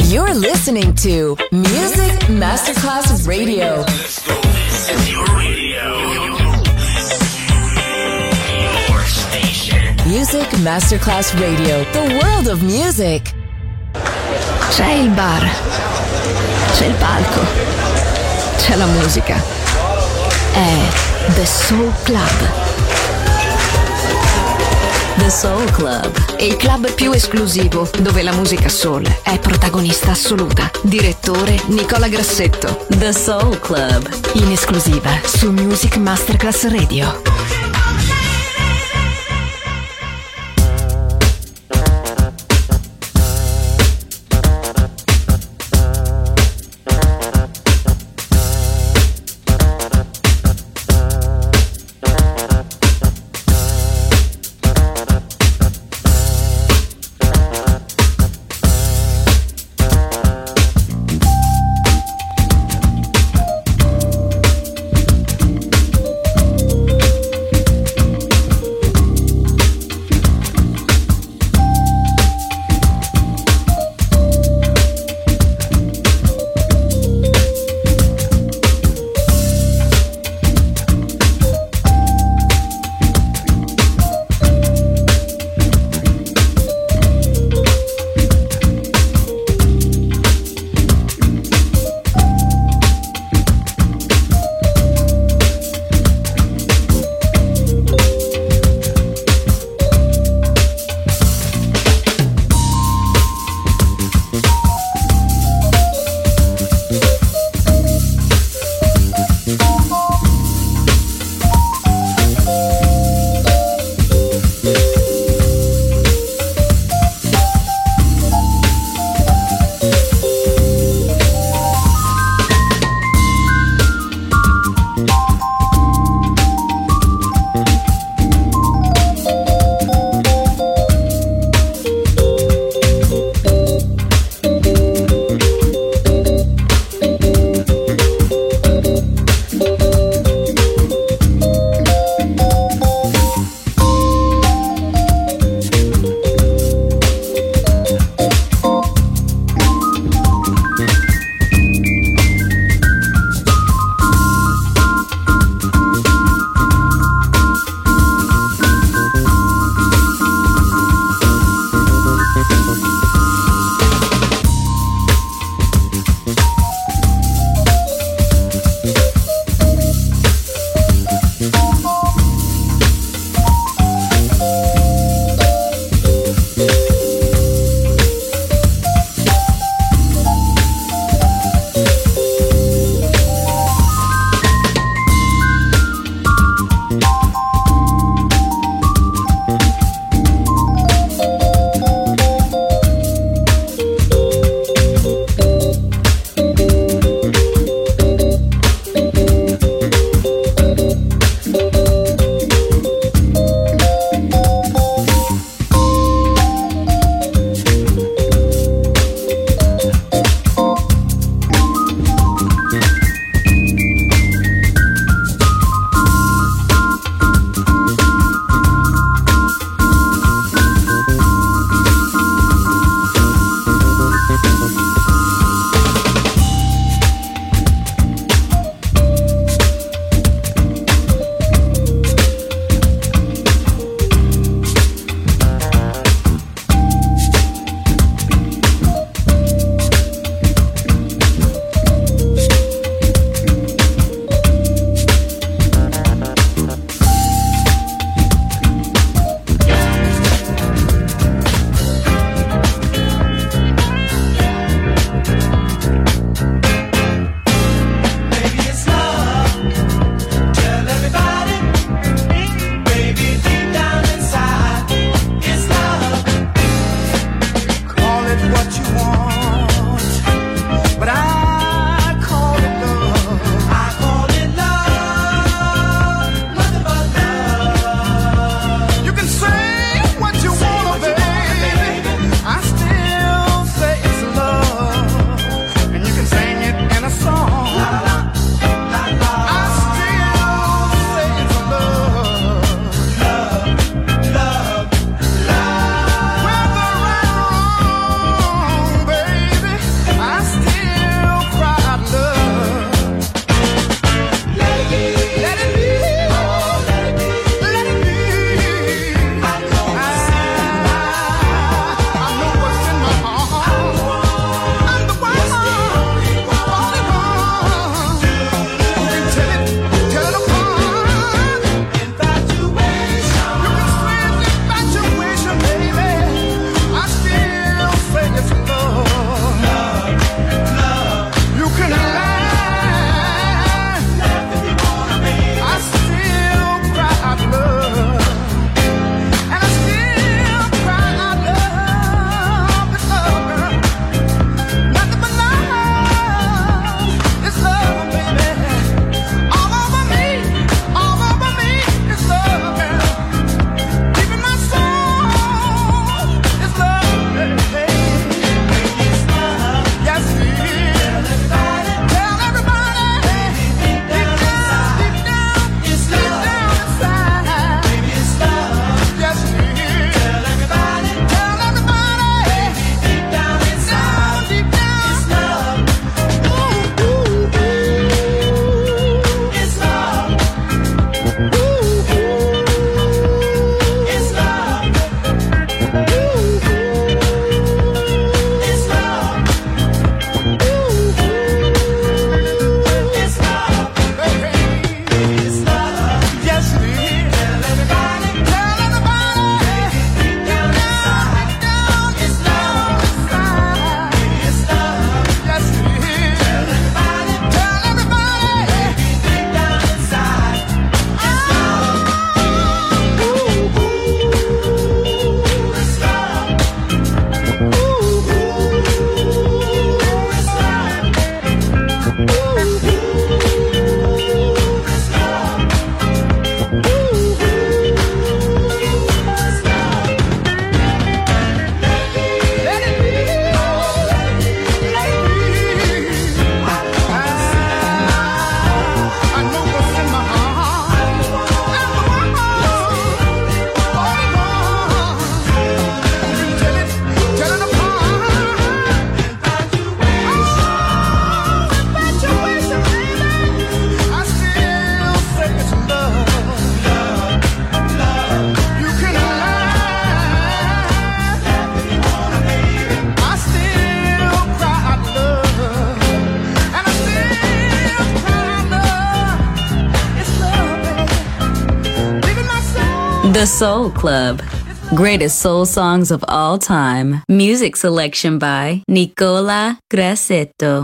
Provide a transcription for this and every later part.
You're listening to Music Masterclass Radio. Your radio. Your station. Music Masterclass Radio. The world of music. C'è il bar. C'è il palco. C'è la musica. È The Soul Club. The Soul Club. Il club più esclusivo, dove la musica soul è protagonista assoluta. Direttore Nicola Grassetto. The Soul Club. In esclusiva su Music Masterclass Radio. The Soul Club. Greatest soul songs of all time. Music selection by Nicola Grassetto.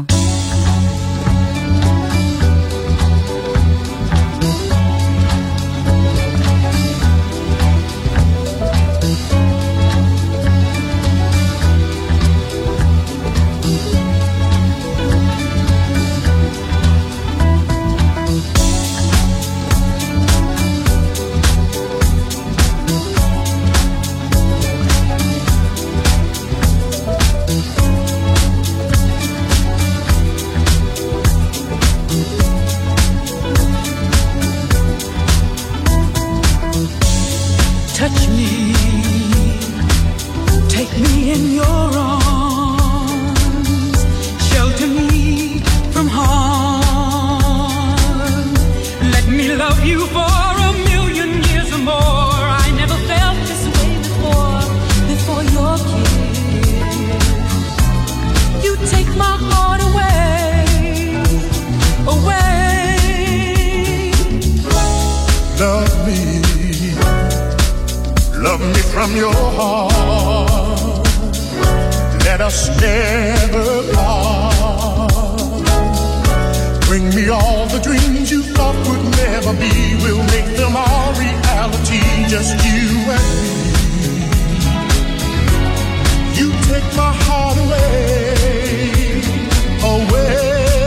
Touch me, take me in your arms, shelter me from harm. Let me love you for 1,000,000 years or more. I never felt this way before your kiss. You take my heart away, away. Love me. Love me from your heart. Let us never part. Bring me all the dreams you thought would never be. We'll make them all reality, just you and me. You take my heart away, away.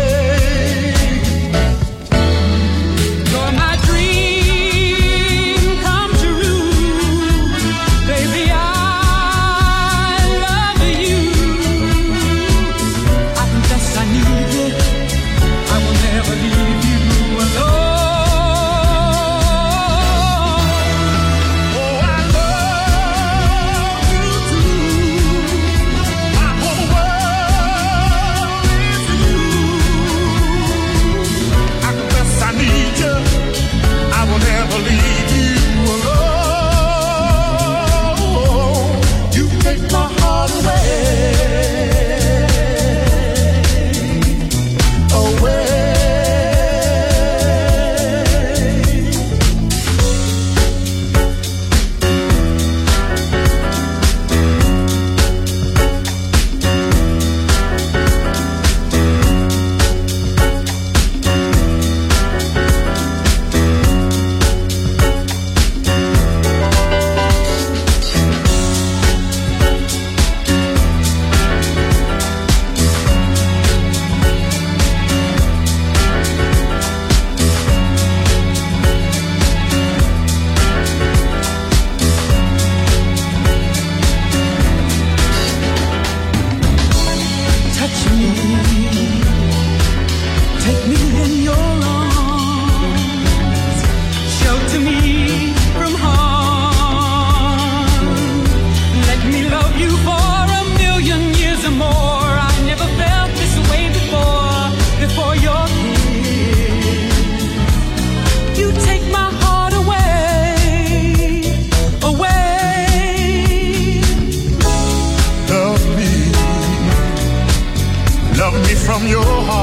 From your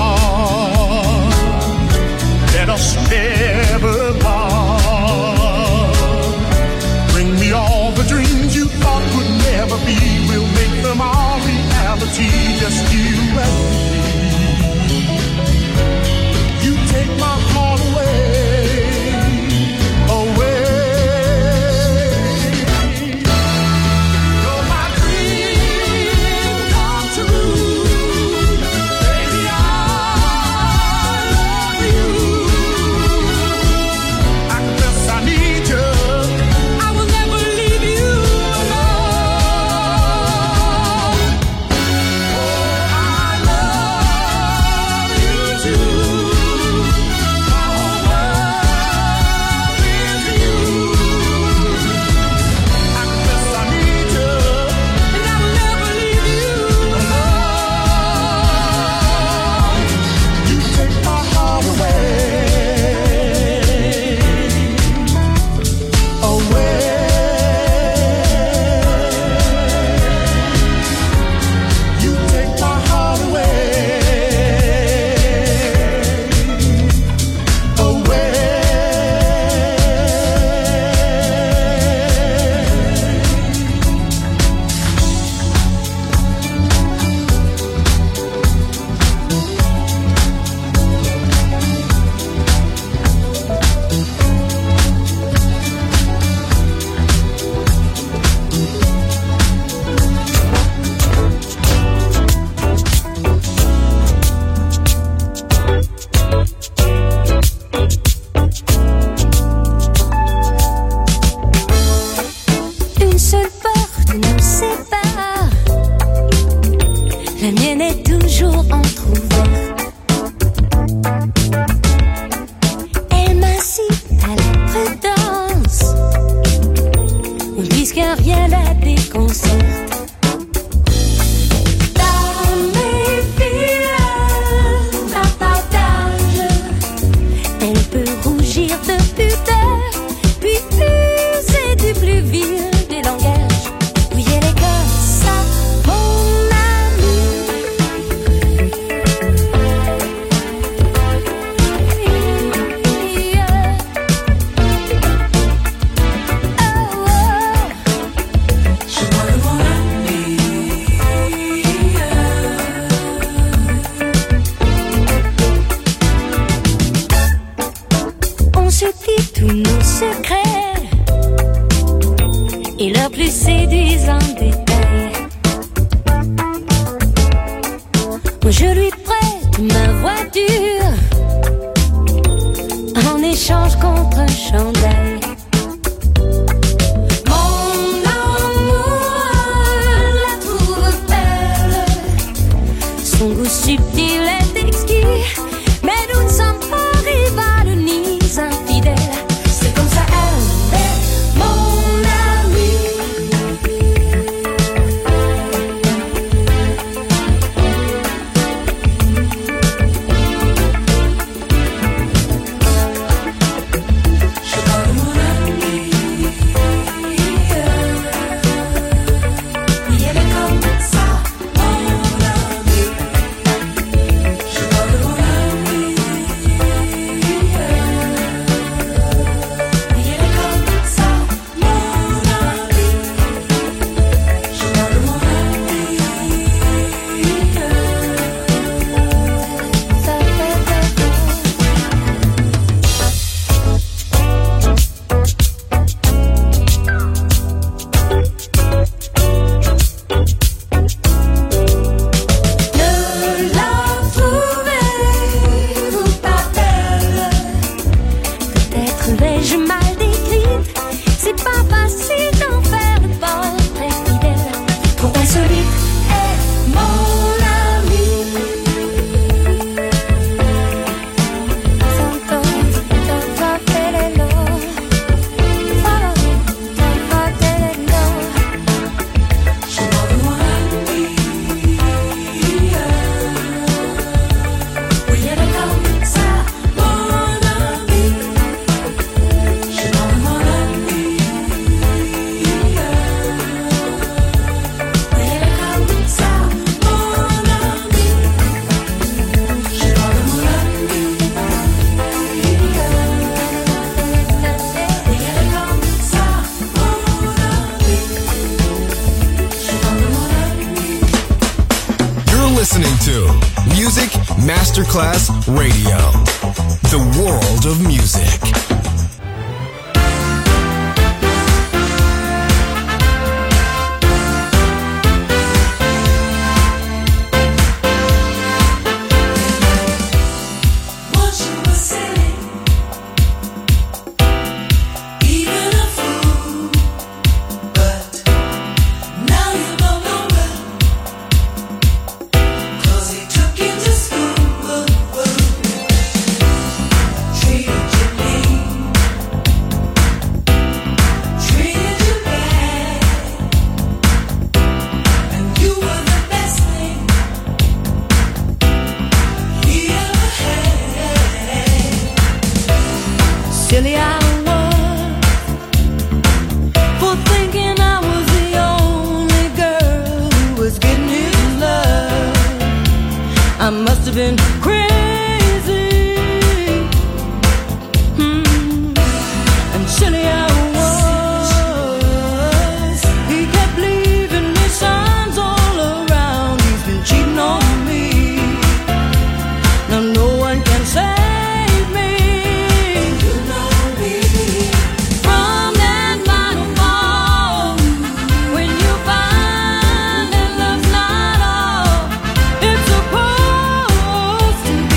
heart, let us never part. Bring me all the dreams you thought would never be. We'll make them all reality, just you and me. You take my heart away, away. You're my dream come true. Baby, I la mienne est toujours entrouverte. Elle m'incite à la prudence, puisque rien la déconcerte. Et leurs plus séduisants détails. Je lui prête ma voiture en échange contre un chandail. Mon amour la trouve belle, son goût subtil est exquis, mais nous ne sommes pas rivales ni infidèles. C'est comme ça elle est mon amie. Je parle mon amie. Oui, elle est comme ça, mon amie. Je parle mon amie. Oui, elle est comme ça, mon amie. Je parle mon amie. Ça fait ne la trouvez-vous pas belle? Peut-être vais-je mal décrite, c'est pas facile d'en faire le portrait fidèle. Pourquoi celui est mon ami? Santo, Santo, Telelo. Santo, Telelo. Je parle mon ami. Oui, elle est comme ça, mon ami. Je parle mon ami. Oui, elle est comme ça, mon ami. Je parle mon ami. Oui, elle est comme ça, mon ami. Je parle mon ami. You're listening to Music Masterclass Radio, the world of music. Once you were silly, even a fool, but now you're no longer. 'Cause he took you to school, treated you mean, treated you bad, and you were the best thing he ever had. Silly I was for thinking I was the only girl who was getting his love. I must have been crazy. And silly I was. He kept leaving me signs all around. He's been cheating on me. Now no one can save me. You know me. From that final fall, when you find that love's not all it's supposed to be.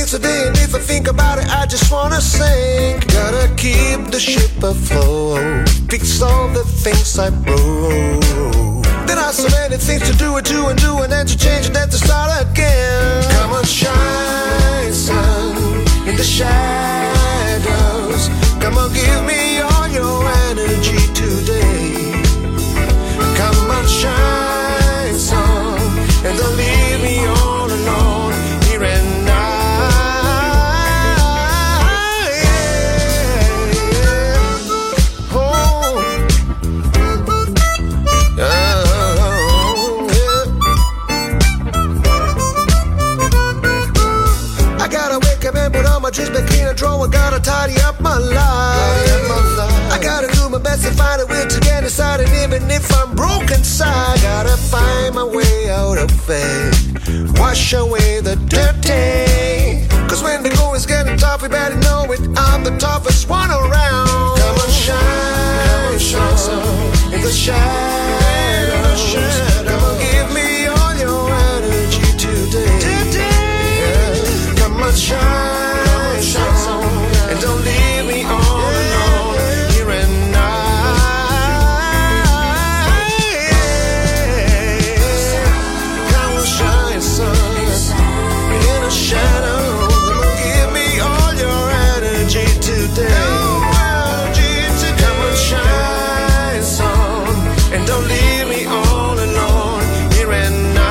day today, and if I think about it, I just wanna sing. Gotta keep the ship afloat, fix all the things I broke. There are so many things to do and do and do, and then to change and then to start again. Come on, shine, sun, in the shadows. Come on, give me all your energy today. Come on, shine, sun, and don't leave me all alone here and now. My dreams back in a drawer, gotta tidy up my life. I gotta do my best to find a way to get inside, and even if I'm broken inside, gotta find my way out of it. Wash away the dirty. Cause when the going's getting tough, we better know it. I'm the toughest one around. Come on, shine, shine in the shadows. Come on, give me all your energy today. Come on, shine. And don't leave me all alone here and now. Come on, shine, sun, in the shadow. Come on, give me all your energy today. Come on, shine, sun, and don't leave me all alone here and now.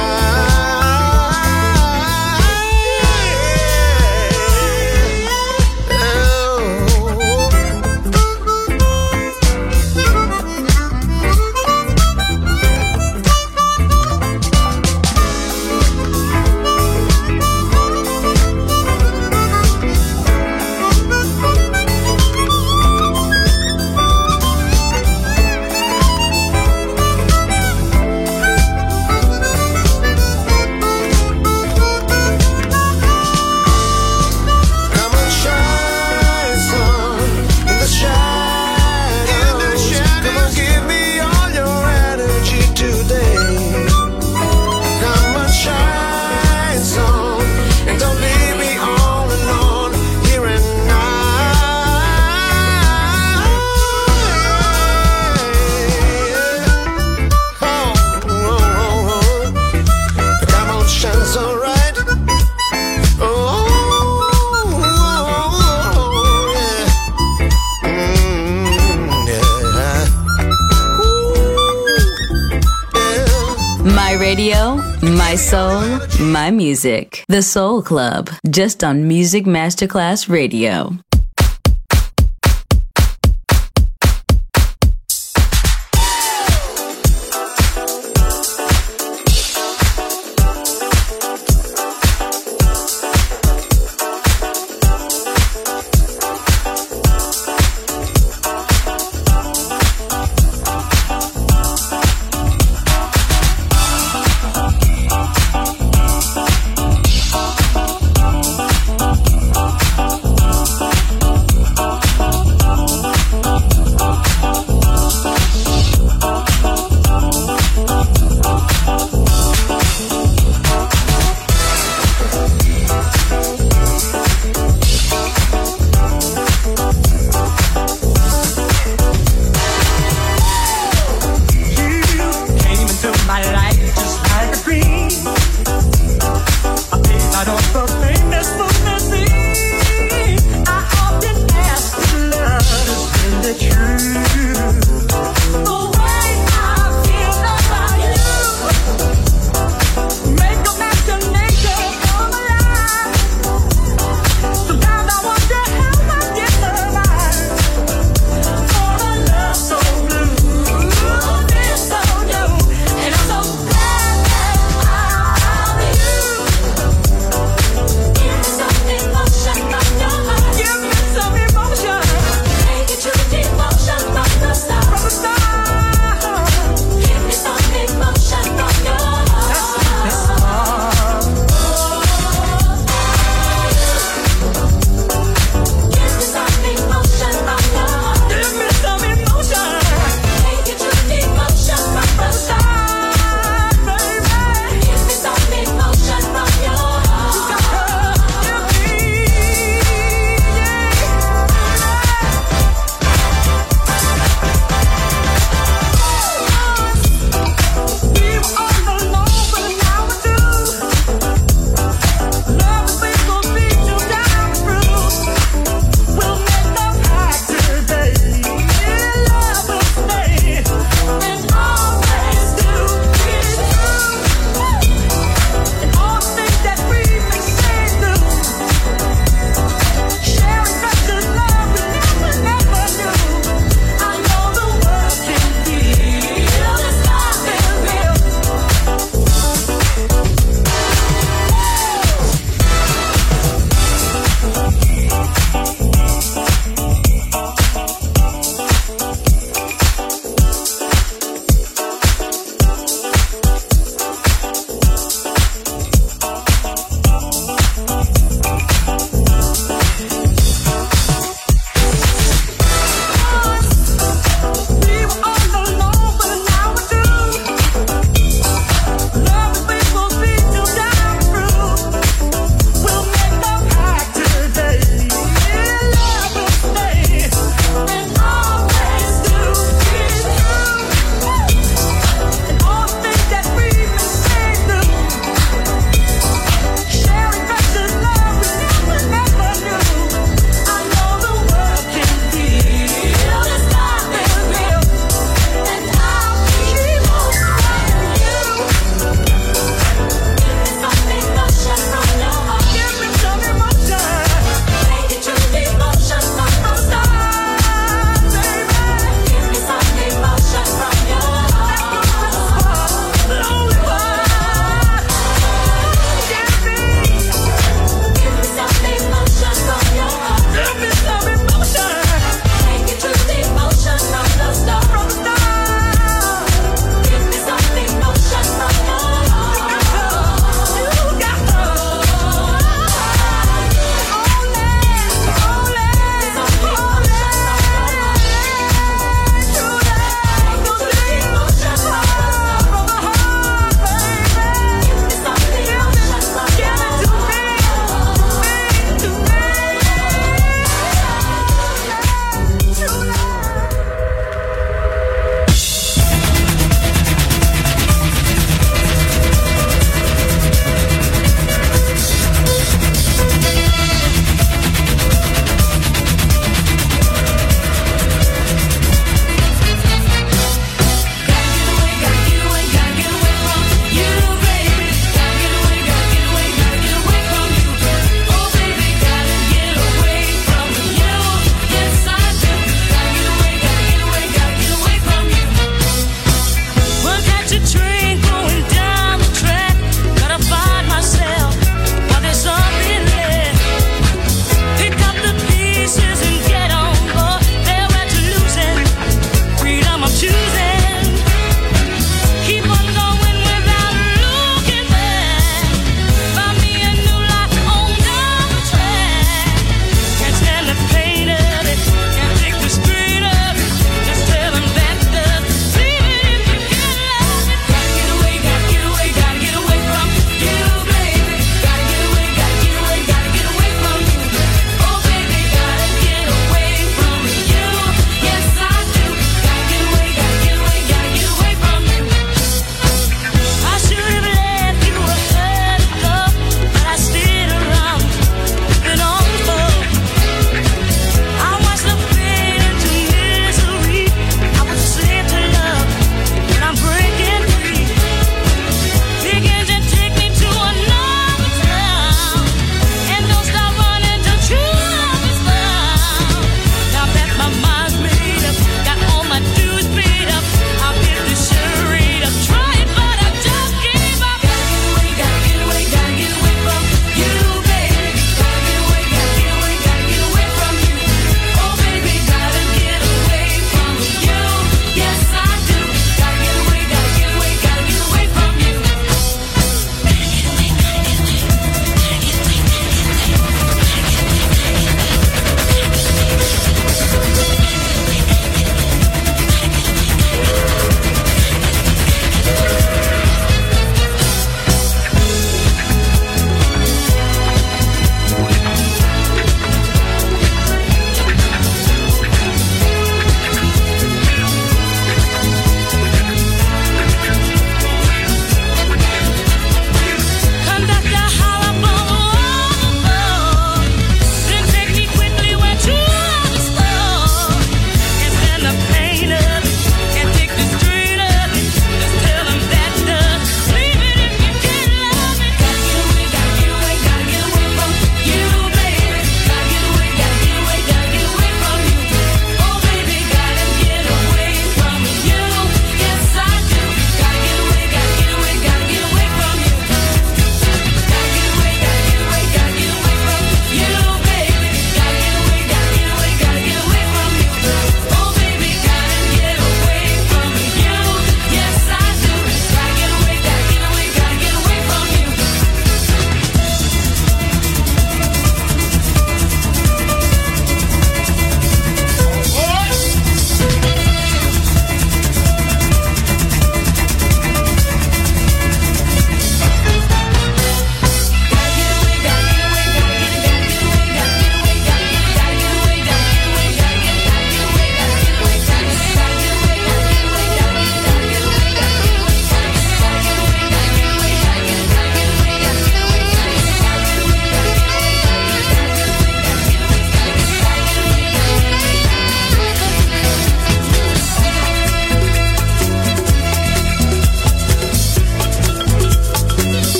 Radio, my soul, my music. The Soul Club, just on Music Masterclass Radio.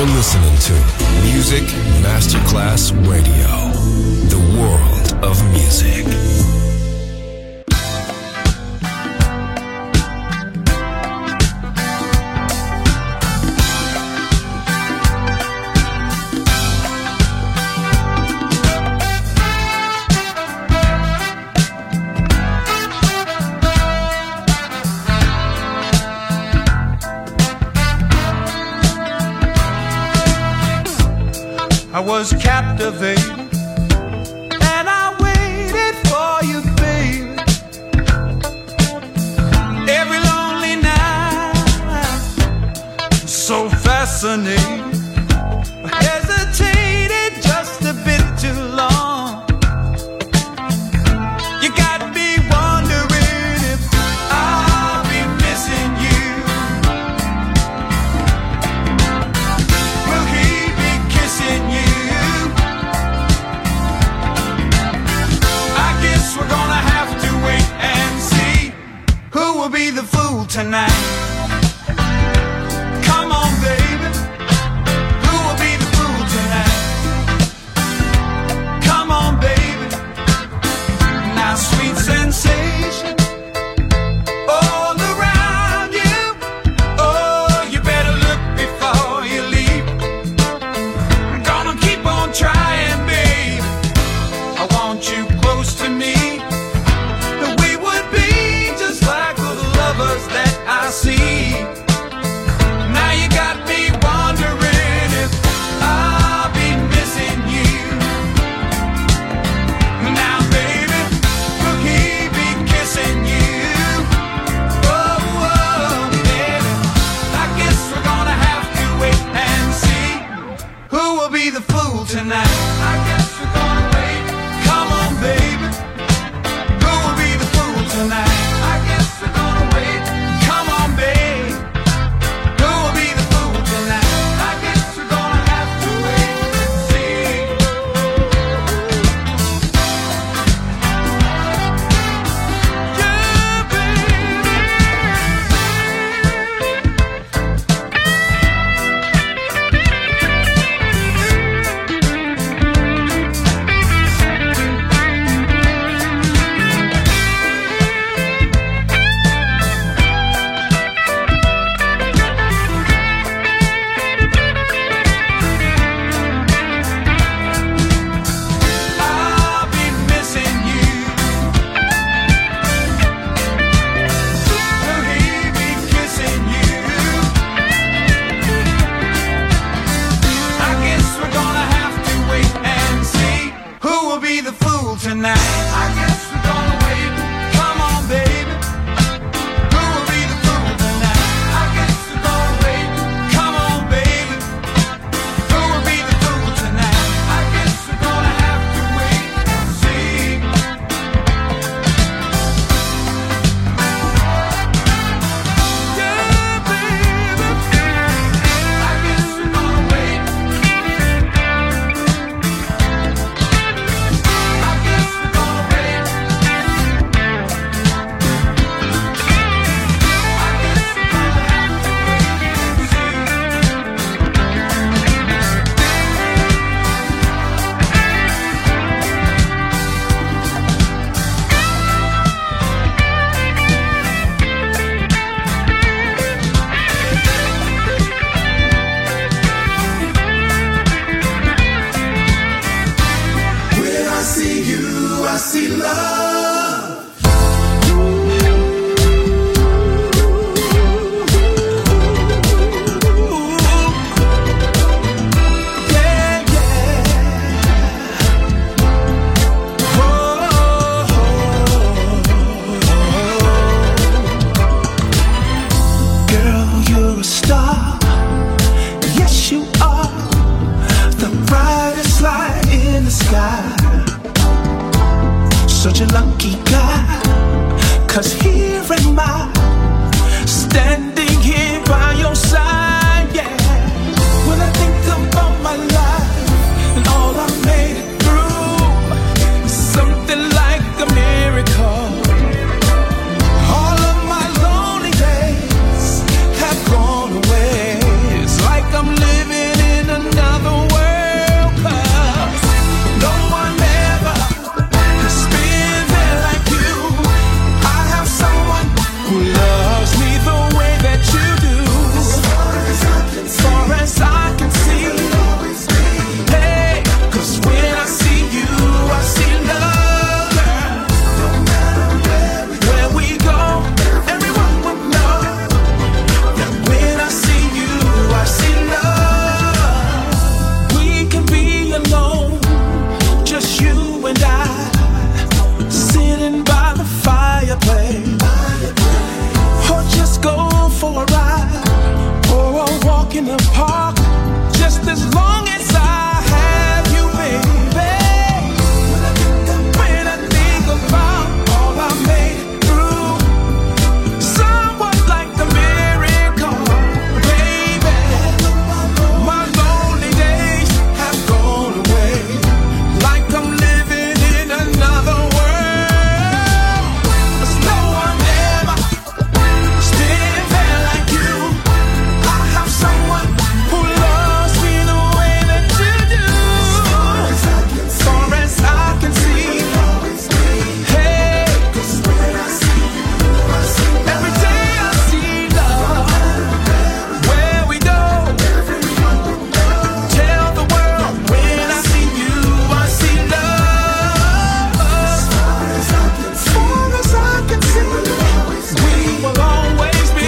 You're listening to Music Masterclass Radio, the world of music. I was captivated and I waited for you, baby. Every lonely night, so fascinating. I hesitated just a bit too long. You got me wondering if I'll be missing you. Will he be kissing you? We're gonna have to wait and see who will be the fool tonight. Come on, baby, who will be the fool tonight? Come on, baby, now sweet sensation all around you. Oh, you better look before you leave. I'm gonna keep on trying, baby. I want you close to me. That I see. Now you got me wondering if I'll be missing you. Now baby, will he be kissing walk in the park, just as long as I have you, baby. When I think about all I made through, somewhat like a miracle, baby. My lonely days have gone away, like I'm living in another world. There's no one ever been there like you. I have someone who loves me the way that you do. Far as I can see, hey, every day I see love. Where we go, tell the world when I see you, I see love. Far as I can see, we will always be.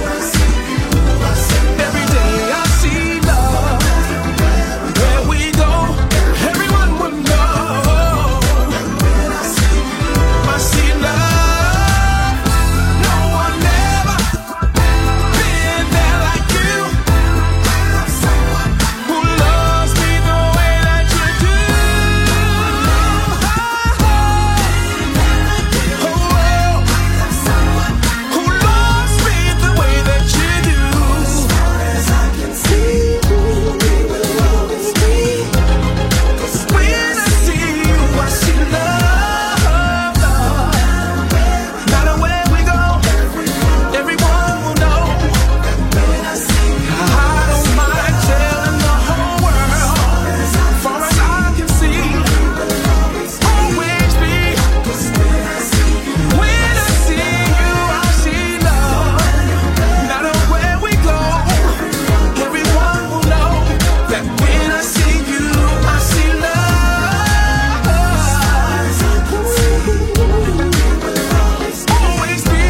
Every day I see love. Where we go, everyone will know. I see love. No one ever been there like you. Who loves me the way that you do. Who loves me the way that you do. As far as I can see, we will always be. When I see you, I see love, love. No matter where we go, everyone will know. I don't mind telling the whole world. Far as I can see, always be. When I see you, I see love. No matter where we go, everyone will know that when I see you, I see love. Always be.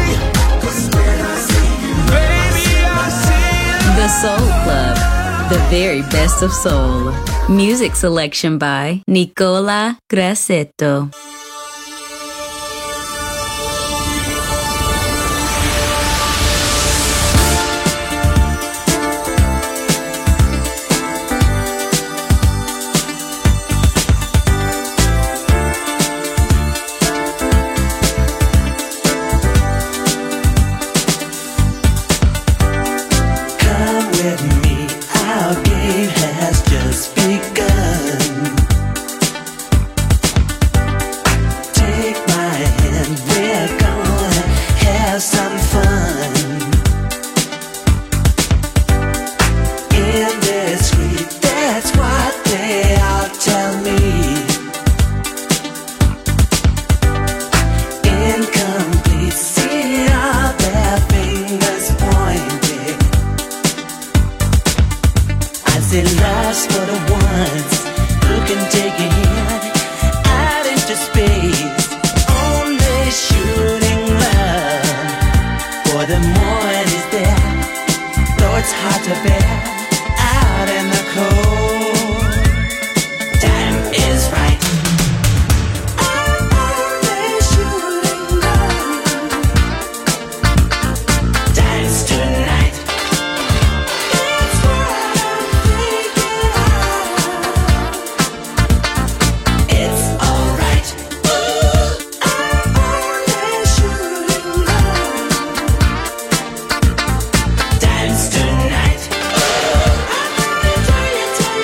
Baby, I see The Soul Club, the very best of soul. Music selection by Nicola Grassetto. Come with me, our game has just begun. Take my hand, we're gonna have some fun. In this street, that's what they all tell me. Incomplete, see all their fingers pointing. I say lost for the ones who can take a hint out into space. Only shooting love for the more it is there. Though it's hard to bear out in the cold. Time is right. I'm only shooting love. Dance tonight. It's what I'm thinking of. It's alright. I'm only shooting love. Dance tonight. I'm only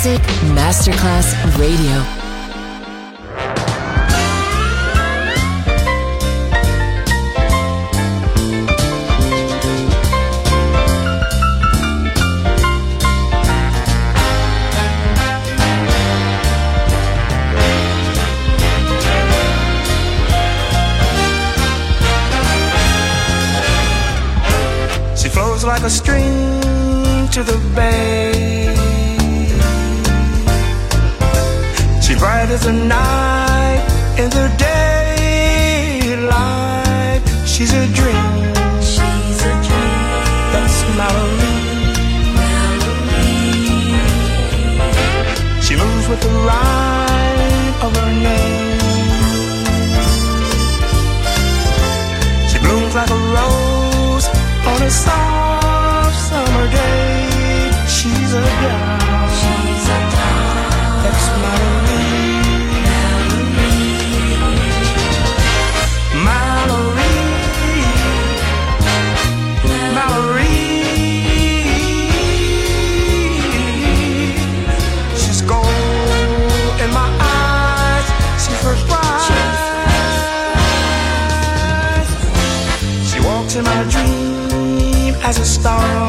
Music Masterclass Radio. She flows like a stream to the bay. She bright as a night in the daylight. She's a dream. She's a dream. That's Mallory. She moves with the rhyme of her name. She blooms like a rose on a soft summer day. She's a doll. She's a doll. That's Mallory. Mallory. Mallory. She's gold in my eyes. She's first bright. She walks in my dream as a star.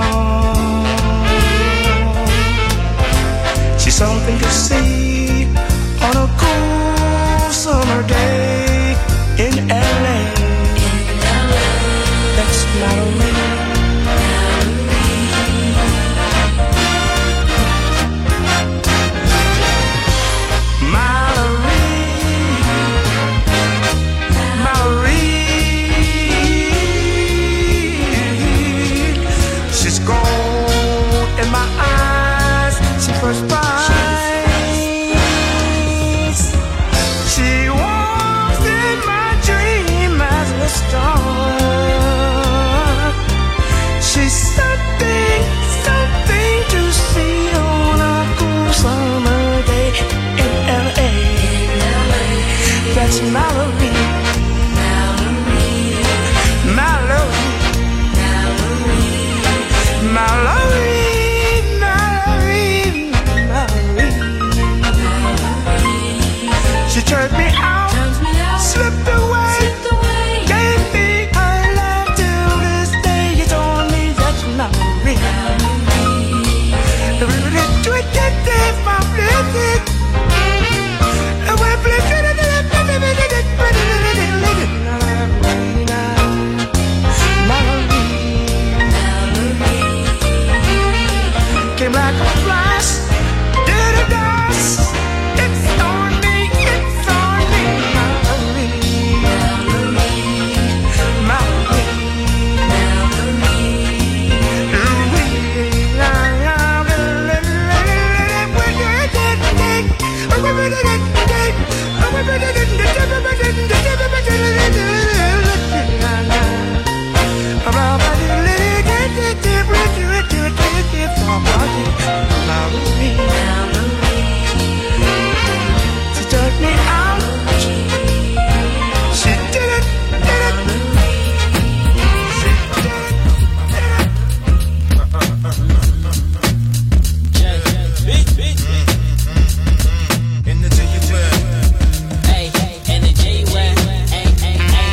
She's something to see on a cool summer day in LA. That's Mallory. First prize. She walks in my dream as a star. She's something, something to see on a cool summer day in LA. That's Mallory. Mallory. Mallory. She turned me out, slipped away, gave me her love till this day. You told me that's Mallory. Came like a flash, did a dance. It's on me, it's on me, Mallory. Mallory. She took me out. She did it, did it. In the J-U-L. Hey, in the J-U-L. Hey, hey, hey.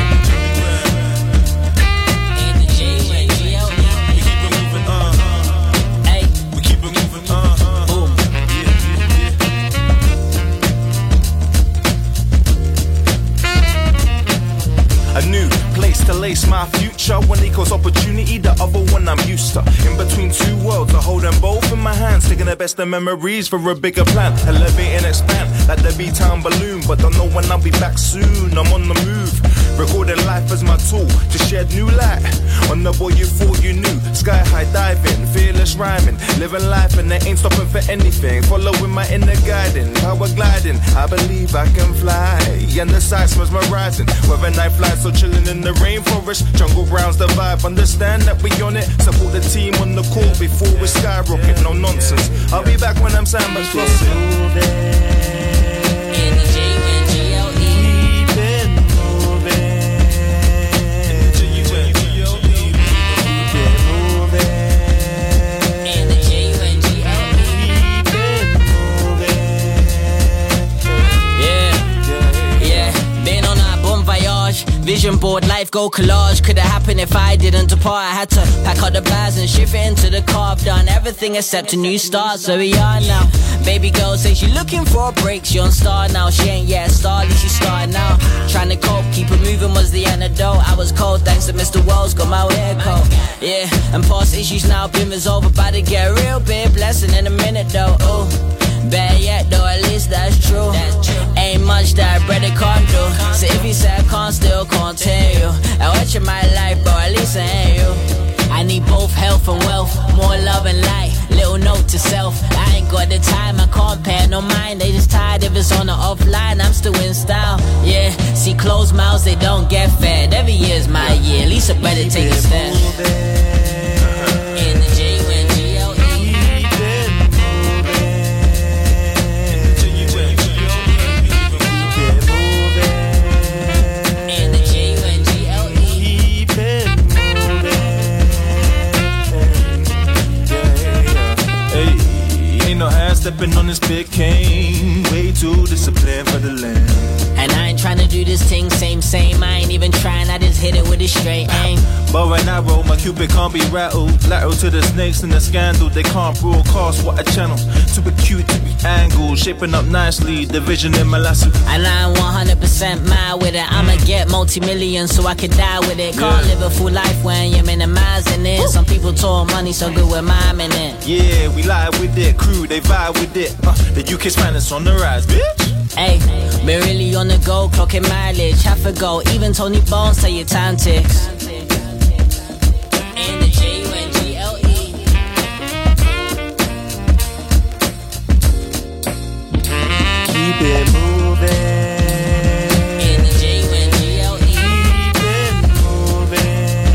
In the J-U-L. We keep it moving, Hey, we keep it moving, Boom. A new place to lace my future. One equals opportunity, the other one I'm used to. In between two worlds, I hold them both in my hands, taking the best of memories for a bigger plan. Elevate and expand like the B-Town balloon, but don't know when I'll be back soon. I'm on the move, recording life as my tool to shed new light on the boy you thought you knew. Sky high diving, fearless rhyming, living life and they ain't stopping for anything. Following my inner guiding, power gliding. I believe I can fly, and the sights mesmerizing. Whether night flies or chilling in the rainforest, jungle grounds the vibe. Understand that we on it. Support the team on the court before we skyrocket. No nonsense. I'll be back when I'm Samba flossing. garage. Vision board, life go collage. Could have happened if I didn't depart. I had to pack up the bags and shift it into the car. I've done everything except a new start, so we are now. Baby girl says she looking for a break. She on star now, she ain't yet a star, at least she starting now. Trying to cope, keep it moving was the antidote. I was cold thanks to Mr. Wells, got my hair coat. Yeah, and past issues now been resolved. About to get a real big blessing in a minute though. Oh, bad yet though, at least that's true. Ain't much that brother can't do. So if he said I can't, still continue. I watch in my life, bro, at least I ain't you. I need both health and wealth, more love and light. Little note to self, I ain't got the time, I can't pay no mind. They just tired if it's on the offline, I'm still in style. Yeah, see closed mouths, they don't get fed. Every year's my year, at least I better take a step. In the stepping on this big cane, way too disciplined for the land. And I ain't tryna do this thing same, I ain't even trying, I just hit it with a straight aim. But when I roll, my cupid can't be rattled. Lateral to the snakes and the scandal, they can't broadcast what a channel. Too acute to be angled, shaping up nicely, the vision in my lasso. And I'm 100% mad with it, I'ma get multi-millions so I can die with it. Can't live a full life when you're minimizing it. Some people talk money so good with miming it. Yeah, we lie with it, crew, they vibe with it. The UK's finest on the rise, bitch. Hey, been really on the go, clocking mileage. Half a go, even Tony Bones say your time ticks. In the G-U-N-G-L-E. Keep it moving. In the G-U-N-G-L-E. Keep it moving.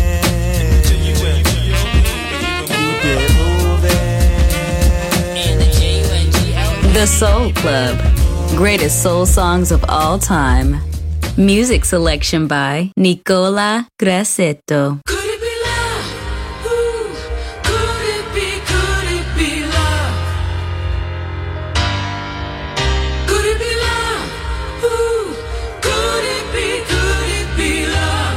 Keep it moving. In the G-U-N-G-L-E. The Soul Club. Greatest soul songs of all time. Music selection by Nicola Grassetto. Could it be love? Ooh, could it be love? Could it be love? Ooh, could it be love?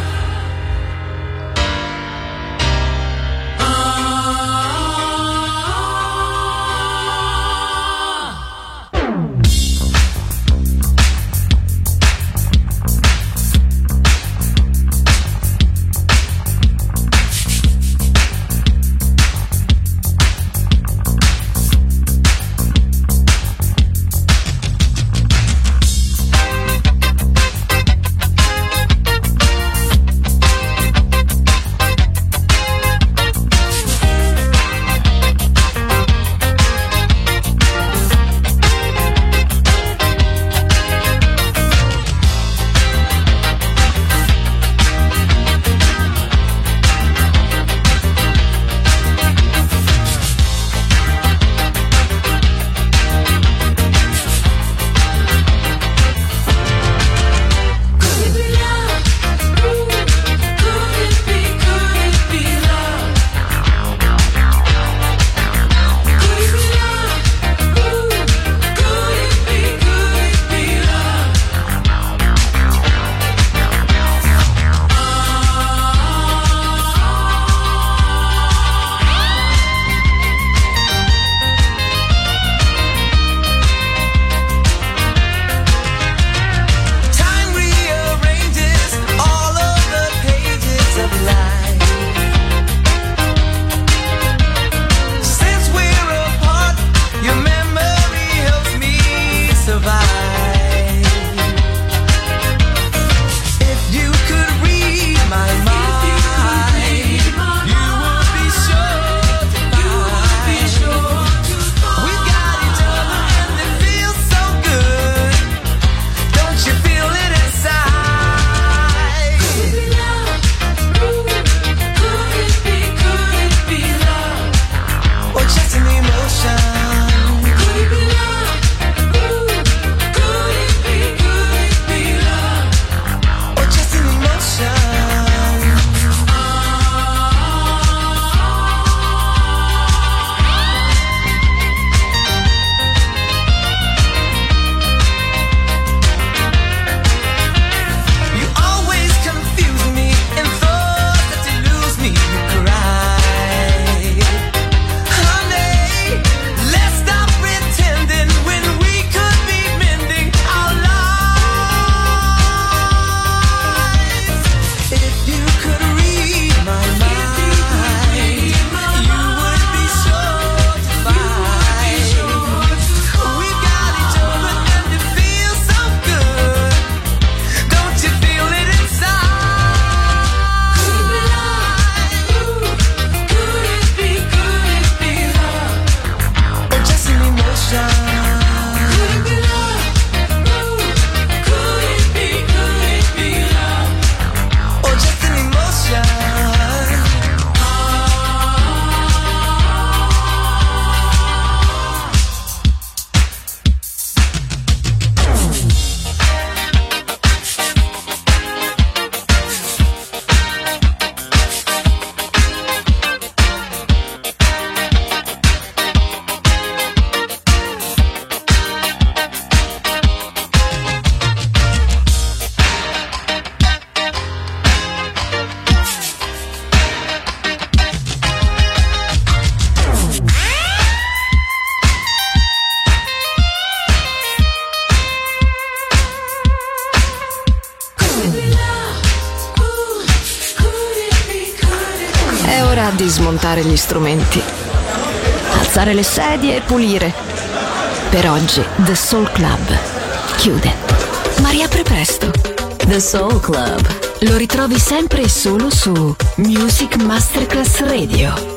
ora di smontare gli strumenti, alzare le sedie e pulire. Per oggi The Soul Club chiude, ma riapre presto. The Soul Club lo ritrovi sempre e solo su Music Masterclass Radio.